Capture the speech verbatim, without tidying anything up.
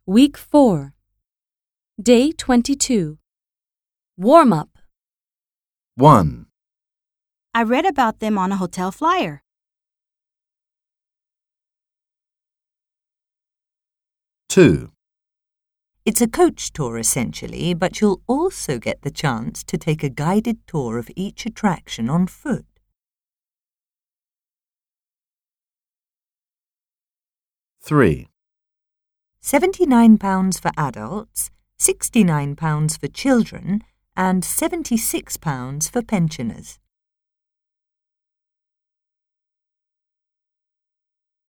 Week four. Day twenty-two. Warm-up. one. I read about them on a hotel flyer. two. It's a coach tour essentially, but you'll also get the chance to take a guided tour of each attraction on foot. three. seventy-nine pounds for adults, sixty-nine pounds for children, and seventy-six pounds for pensioners.